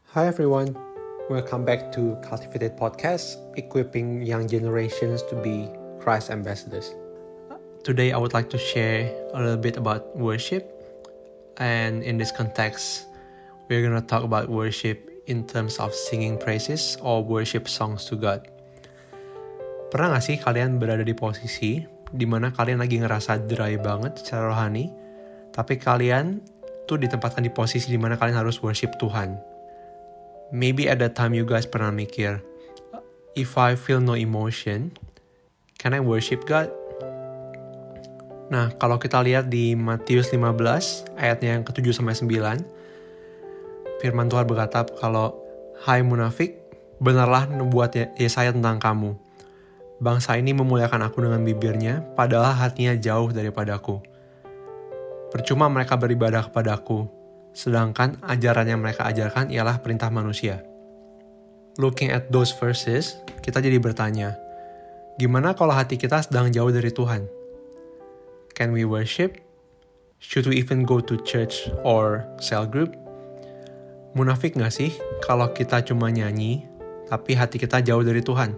Hi everyone, welcome back to Cultivated Podcast, equipping young generations to be Christ ambassadors. Today I would like to share a little bit about worship, and in this context, we're going to talk about worship in terms of singing praises or worship songs to God. Pernah gak sih kalian berada di posisi di mana kalian lagi ngerasa dry banget secara rohani, tapi kalian tuh ditempatkan di posisi di mana kalian harus worship Tuhan? Maybe at that time you guys pernah mikir, if I feel no emotion, can I worship God? Nah, kalau kita lihat di Matius 15, ayatnya yang ke-7-9, firman Tuhan berkata kalau, "Hai munafik, benarlah nubuat Yesaya tentang kamu. Bangsa ini memuliakan aku dengan bibirnya, padahal hatinya jauh daripadaku. Percuma mereka beribadah kepadaku, sedangkan ajaran yang mereka ajarkan ialah perintah manusia." Looking at those verses, kita jadi bertanya, gimana kalau hati kita sedang jauh dari Tuhan? Can we worship? Should we even go to church or cell group? Munafik gak sih kalau kita cuma nyanyi, tapi hati kita jauh dari Tuhan?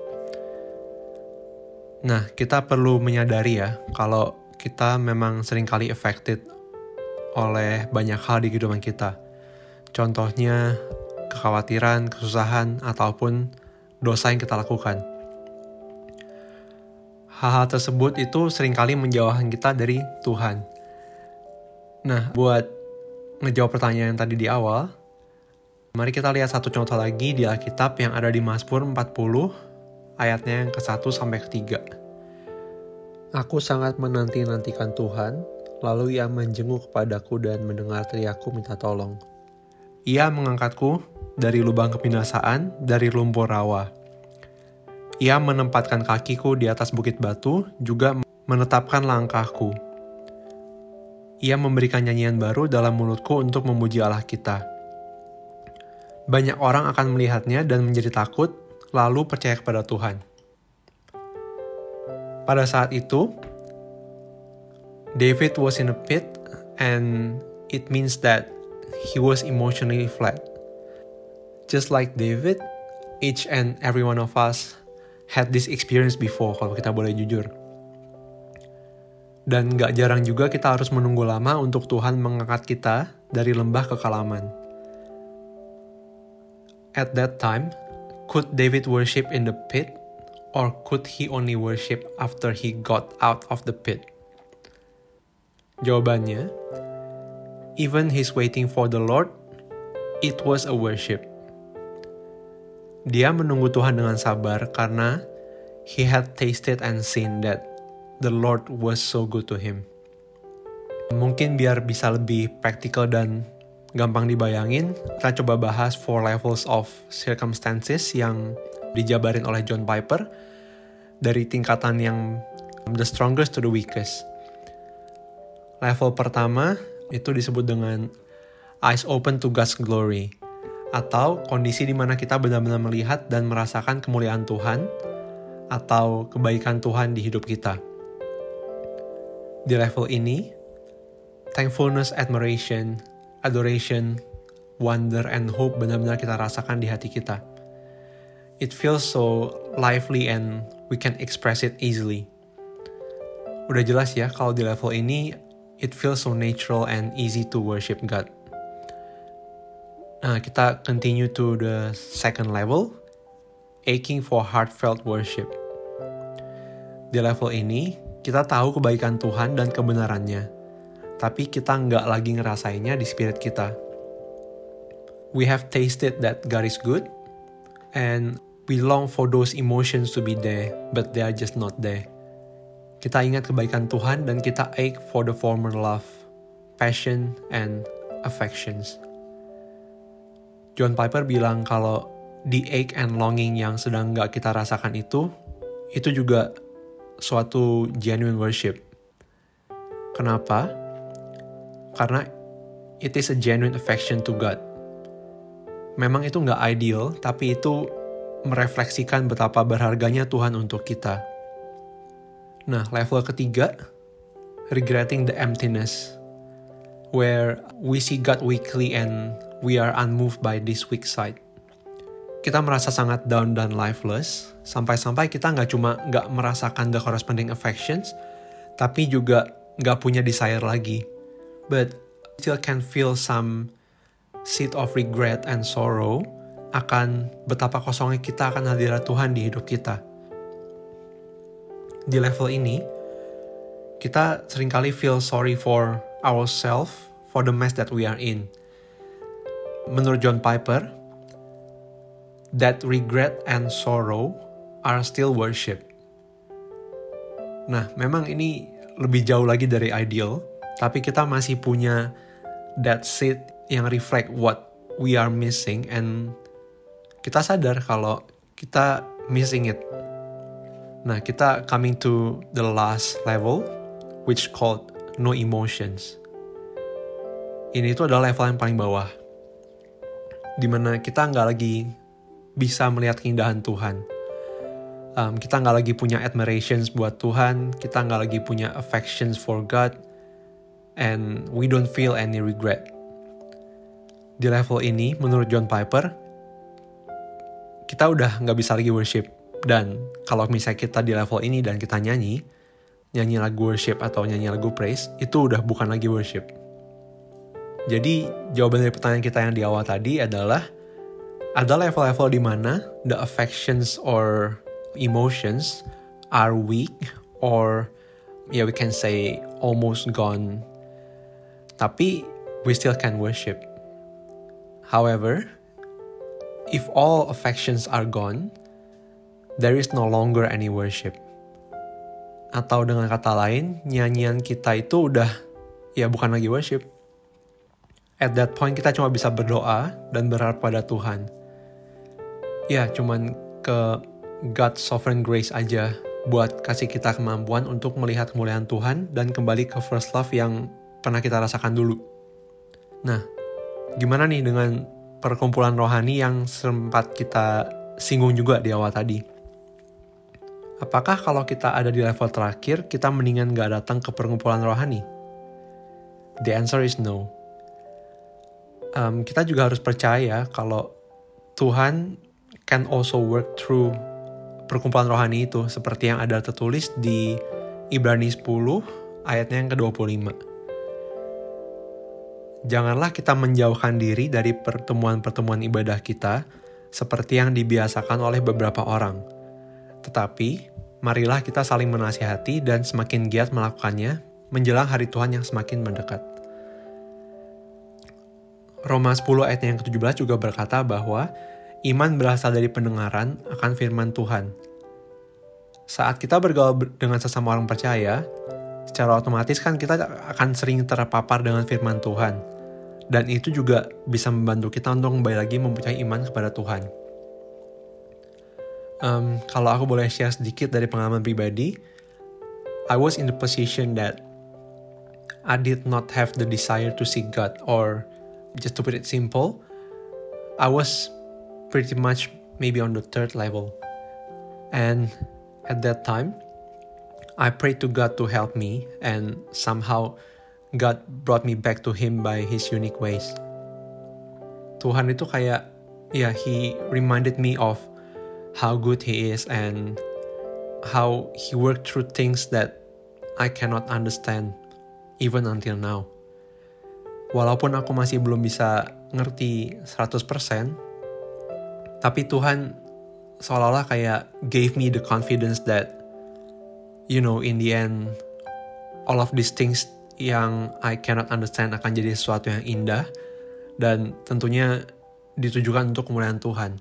Nah, kita perlu menyadari ya, kalau kita memang seringkali affected oleh banyak hal di kehidupan kita. Contohnya, kekhawatiran, kesusahan, ataupun dosa yang kita lakukan. Hal-hal tersebut itu seringkali menjauhkan kita dari Tuhan. Nah, buat ngejawab pertanyaan yang tadi di awal, mari kita lihat satu contoh lagi di Alkitab yang ada di Mazmur 40, ayatnya yang ke-1 sampai ke-3. "Aku sangat menanti-nantikan Tuhan, lalu Ia menjenguk kepadaku dan mendengar teriakku minta tolong. Ia mengangkatku dari lubang kebinasaan, dari lumpur rawa. Ia menempatkan kakiku di atas bukit batu, juga menetapkan langkahku. Ia memberikan nyanyian baru dalam mulutku untuk memuji Allah kita. Banyak orang akan melihatnya dan menjadi takut, lalu percaya kepada Tuhan." Pada saat itu, David was in a pit, and it means that he was emotionally flat. Just like David, each and every one of us had this experience before, kalau kita boleh jujur. Dan gak jarang juga kita harus menunggu lama untuk Tuhan mengangkat kita dari lembah kekalaman. At that time, could David worship in the pit, or could he only worship after he got out of the pit? Jawabannya, even he's waiting for the Lord, it was a worship. Dia menunggu Tuhan dengan sabar karena he had tasted and seen that the Lord was so good to him. Mungkin biar bisa lebih praktikal dan gampang dibayangin, kita coba bahas 4 levels of circumstances yang dijabarin oleh John Piper dari tingkatan yang the strongest to the weakest. Level pertama itu disebut dengan eyes open to God's glory, atau kondisi di mana kita benar-benar melihat dan merasakan kemuliaan Tuhan atau kebaikan Tuhan di hidup kita. Di level ini, thankfulness, admiration, adoration, wonder, and hope benar-benar kita rasakan di hati kita. It feels so lively and we can express it easily. Udah jelas ya kalau di level ini, it feels so natural and easy to worship God. Nah, kita continue to the second level, aching for heartfelt worship. Di level ini, kita tahu kebaikan Tuhan dan kebenarannya, tapi kita nggak lagi ngerasainnya di spirit kita. We have tasted that God is good, and we long for those emotions to be there, but they are just not there. Kita ingat kebaikan Tuhan dan kita ache for the former love, passion, and affections. John Piper bilang kalau the ache and longing yang sedang gak kita rasakan itu juga suatu genuine worship. Kenapa? Karena it is a genuine affection to God. Memang itu gak ideal, tapi itu merefleksikan betapa berharganya Tuhan untuk kita. Nah, level ketiga, regretting the emptiness. where we see God weakly and we are unmoved by this weak side. Kita merasa sangat down dan lifeless, sampai-sampai kita nggak merasakan the corresponding affections, tapi juga nggak punya desire lagi. But still can feel some seed of regret and sorrow akan betapa kosongnya kita akan hadirat Tuhan di hidup kita. Di level ini, kita seringkali feel sorry for ourselves, for the mess that we are in. Menurut John Piper, that regret and sorrow are still worship. Nah, memang ini lebih jauh lagi dari ideal, tapi kita masih punya that seed yang reflect what we are missing, and kita sadar kalau kita missing it. Nah, kita coming to the last level, which called no emotions. Ini tuh adalah level yang paling bawah, dimana kita nggak lagi bisa melihat keindahan Tuhan. Kita nggak lagi punya admirations buat Tuhan, kita nggak lagi punya affections for God, and we don't feel any regret. Di level ini, menurut John Piper, kita udah nggak bisa lagi worship. Dan kalau misalnya kita di level ini dan kita nyanyi lagu worship atau nyanyi lagu praise, itu udah bukan lagi worship. Jadi jawaban dari pertanyaan kita yang di awal tadi adalah, ada level-level di mana the affections or emotions are weak, or we can say almost gone, tapi we still can worship. However, if all affections are gone, there is no longer any worship. Atau dengan kata lain, nyanyian kita itu udah bukan lagi worship. At that point kita cuma bisa berdoa dan berharap pada Tuhan. Cuman ke God's sovereign grace aja buat kasih kita kemampuan untuk melihat kemuliaan Tuhan dan kembali ke first love yang pernah kita rasakan dulu. Nah, gimana nih dengan perkumpulan rohani yang sempat kita singgung juga di awal tadi? Apakah kalau kita ada di level terakhir, kita mendingan gak datang ke perkumpulan rohani? The answer is no. Kita juga harus percaya kalau Tuhan can also work through perkumpulan rohani itu, seperti yang ada tertulis di Ibrani 10 ayatnya yang ke-25. Janganlah kita menjauhkan diri dari pertemuan-pertemuan ibadah kita seperti yang dibiasakan oleh beberapa orang. Tetapi, marilah kita saling menasihati dan semakin giat melakukannya menjelang hari Tuhan yang semakin mendekat. Roma 10 ayat yang ke-17 juga berkata bahwa iman berasal dari pendengaran akan firman Tuhan. Saat kita bergaul dengan sesama orang percaya, secara otomatis kan kita akan sering terpapar dengan firman Tuhan. Dan itu juga bisa membantu kita untuk kembali lagi mempunyai iman kepada Tuhan. Kalau aku boleh share sedikit dari pengalaman pribadi, I was in the position that I did not have the desire to seek God, or just to put it simple, I was pretty much maybe on the third level. And at that time, I prayed to God to help me, and somehow God brought me back to Him by His unique ways. Tuhan itu kayak, He reminded me of how good He is and how He worked through things that I cannot understand even until now. Walaupun aku masih belum bisa ngerti 100%, tapi Tuhan seolah-olah kayak gave me the confidence that, in the end, all of these things yang I cannot understand akan jadi sesuatu yang indah dan tentunya ditujukan untuk kemuliaan Tuhan.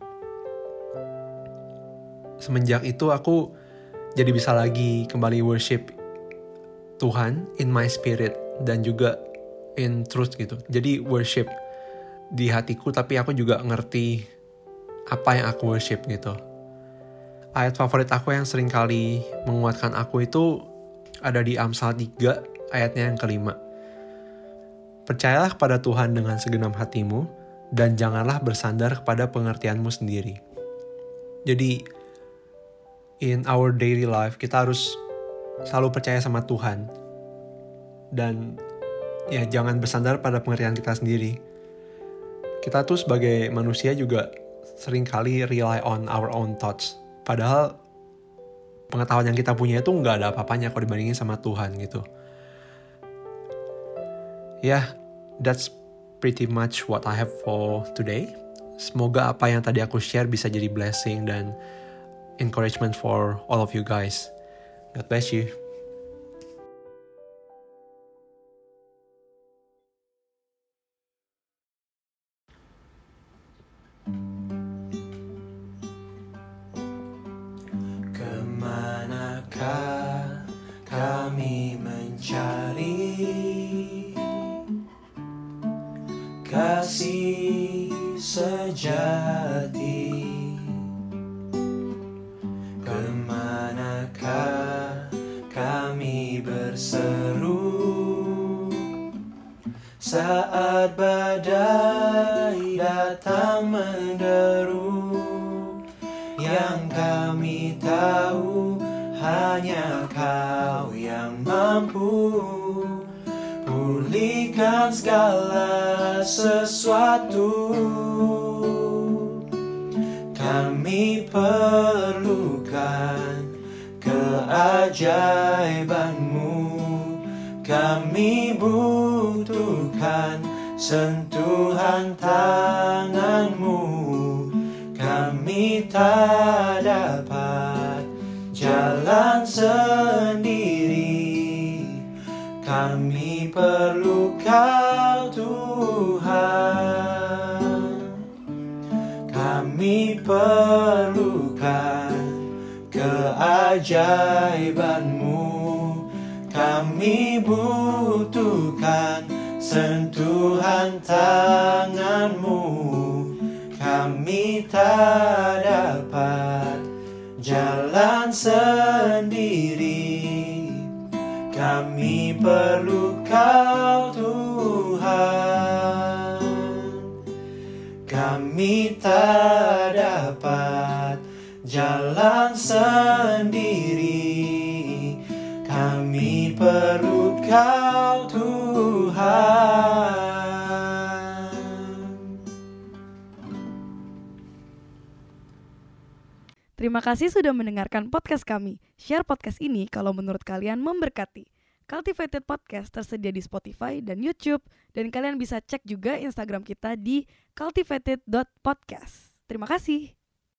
Semenjak itu aku jadi bisa lagi kembali worship Tuhan in my spirit dan juga in truth gitu. Jadi worship di hatiku, tapi aku juga ngerti apa yang aku worship gitu. Ayat favorit aku yang sering kali menguatkan aku itu ada di Amsal 3 ayatnya yang ke-5. Percayalah kepada Tuhan dengan segenap hatimu dan janganlah bersandar kepada pengertianmu sendiri. Jadi in our daily life kita harus selalu percaya sama Tuhan. Dan ya jangan bersandar pada pengertian kita sendiri. Kita tuh sebagai manusia juga seringkali rely on our own thoughts. Padahal pengetahuan yang kita punya itu nggak ada apa-apanya kalau dibandingin sama Tuhan gitu. Ya, that's pretty much what I have for today. Semoga apa yang tadi aku share bisa jadi blessing dan encouragement for all of you guys. God bless you. Kemanakah kami mencari kasih sejati? Kemanakah kami berseru saat badai datang menderu? Yang kami tahu hanya Kau yang mampu pulihkan segala sesuatu. Kami perlukan keajaiban-Mu, kami butuhkan sentuhan tangan-Mu. Kami tak dapat jalan sendiri, kami perlu Kau Tuhan. Kami perlukan keajaiban-Mu, kami butuhkan sentuhan tangan-Mu. Kami tak dapat jalan sendiri, kami perlu Kau Tuhan. Kami tak dapat jalan sendiri, kami perlu Kau Tuhan. Terima kasih sudah mendengarkan podcast kami. Share podcast ini kalau menurut kalian memberkati. Cultivated Podcast tersedia di Spotify dan YouTube. Dan kalian bisa cek juga Instagram kita di cultivated.podcast. Terima kasih.